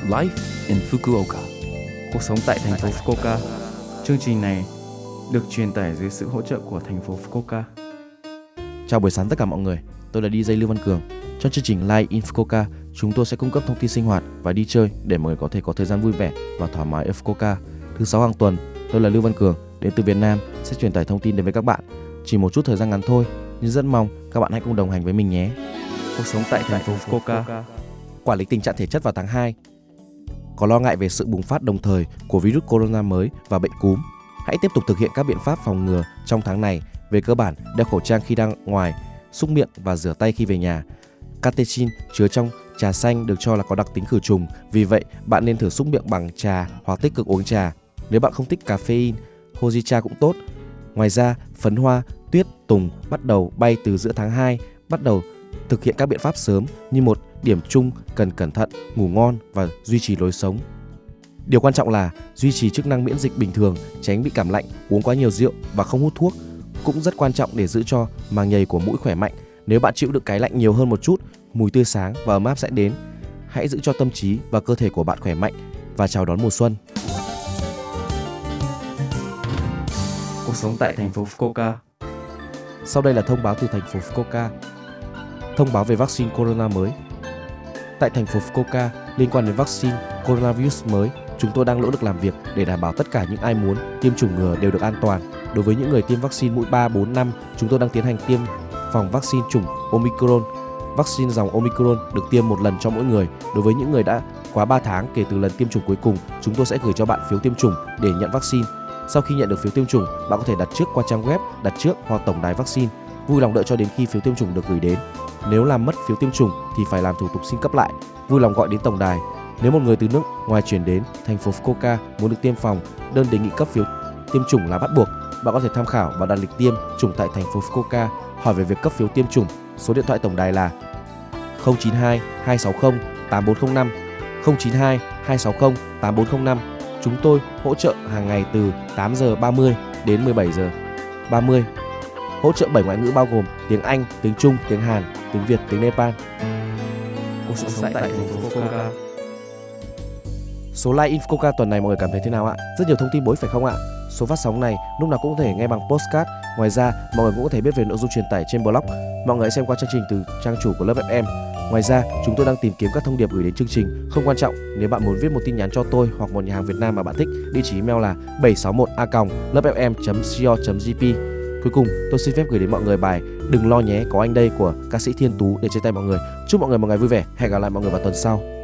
Life in Fukuoka. Cuộc sống tại thành phố Fukuoka. Chương trình này được truyền tải dưới sự hỗ trợ của thành phố Fukuoka. Chào buổi sáng tất cả mọi người, tôi là DJ Lưu Văn Cường. Trong chương trình Live in Fukuoka, chúng tôi sẽ cung cấp thông tin sinh hoạt và đi chơi để mọi người có thể có thời gian vui vẻ và thoải mái ở Fukuoka. Thứ 6 hàng tuần, tôi là Lưu Văn Cường, đến từ Việt Nam, sẽ truyền tải thông tin đến với các bạn. Chỉ một chút thời gian ngắn thôi, nhưng rất mong các bạn hãy cùng đồng hành với mình nhé. Cuộc sống tại thành phố Fukuoka. Quản lý tình trạng thể chất vào tháng 2. Có lo ngại về sự bùng phát đồng thời của virus corona mới và bệnh cúm, hãy tiếp tục thực hiện các biện pháp phòng ngừa trong tháng này. Về cơ bản, đeo khẩu trang khi đang ngoài, súc miệng và rửa tay khi về nhà. Catechin chứa trong trà xanh được cho là có đặc tính khử trùng, vì vậy bạn nên thử súc miệng bằng trà hoặc tích cực uống trà. Nếu bạn không thích caffeine, Hojicha cũng tốt. Ngoài ra, phấn hoa, tuyết, tùng bắt đầu bay từ giữa tháng 2, bắt đầu thực hiện các biện pháp sớm như một điểm chung cần cẩn thận, ngủ ngon và duy trì lối sống. Điều quan trọng là duy trì chức năng miễn dịch bình thường, tránh bị cảm lạnh, uống quá nhiều rượu và không hút thuốc. Cũng rất quan trọng để giữ cho màng nhầy của mũi khỏe mạnh. Nếu bạn chịu đựng cái lạnh nhiều hơn một chút, mùi tươi sáng và ấm áp sẽ đến. Hãy giữ cho tâm trí và cơ thể của bạn khỏe mạnh và chào đón mùa xuân. Cuộc sống tại thành phố Fukuoka. Sau đây là thông báo từ thành phố Fukuoka. Thông báo về vaccine corona mới. Tại thành phố Fukuoka, liên quan đến vaccine coronavirus mới, chúng tôi đang nỗ lực làm việc để đảm bảo tất cả những ai muốn tiêm chủng ngừa đều được an toàn. Đối với những người tiêm vaccine mũi 3, 4, 5, chúng tôi đang tiến hành tiêm phòng vaccine chủng Omicron. Vaccine dòng Omicron được tiêm một lần cho mỗi người. Đối với những người đã quá 3 tháng kể từ lần tiêm chủng cuối cùng, chúng tôi sẽ gửi cho bạn phiếu tiêm chủng để nhận vaccine. Sau khi nhận được phiếu tiêm chủng, bạn có thể đặt trước qua trang web đặt trước hoặc tổng đài vaccine. Vui lòng đợi cho đến khi phiếu tiêm chủng được gửi đến. Nếu làm mất phiếu tiêm chủng thì phải làm thủ tục xin cấp lại. Vui lòng gọi đến tổng đài. Nếu một người từ nước ngoài chuyển đến thành phố Fukuoka muốn được tiêm phòng, đơn đề nghị cấp phiếu tiêm chủng là bắt buộc. Bạn có thể tham khảo và đặt lịch tiêm chủng tại thành phố Fukuoka. Hỏi về việc cấp phiếu tiêm chủng, số điện thoại tổng đài là 092 260 8405, 092 260 8405. Chúng tôi hỗ trợ hàng ngày từ 8 giờ 30 đến 17 giờ 30. Hỗ trợ 7 ngoại ngữ bao gồm tiếng Anh, tiếng Trung, tiếng Hàn, tiếng Việt, tiếng Nepal. Cuộc sống tại thành phố Fukuoka. Số Live in Fukuoka tuần này mọi người cảm thấy thế nào ạ? Rất nhiều thông tin bổ ích phải không ạ? Số phát sóng này lúc nào cũng có thể nghe bằng podcast. Ngoài ra, mọi người cũng có thể biết về nội dung truyền tải trên blog. Mọi người hãy xem qua chương trình từ trang chủ của Lớp FM. Ngoài ra, chúng tôi đang tìm kiếm các thông điệp gửi đến chương trình. Không quan trọng, nếu bạn muốn viết một tin nhắn cho tôi hoặc một nhà hàng Việt Nam mà bạn thích, địa chỉ email là 761a@lovefm.co.jp. Cuối cùng, tôi xin phép gửi đến mọi người bài Đừng lo nhé có anh đây của ca sĩ Thiên Tú để chia tay mọi người. Chúc mọi người một ngày vui vẻ. Hẹn gặp lại mọi người vào tuần sau.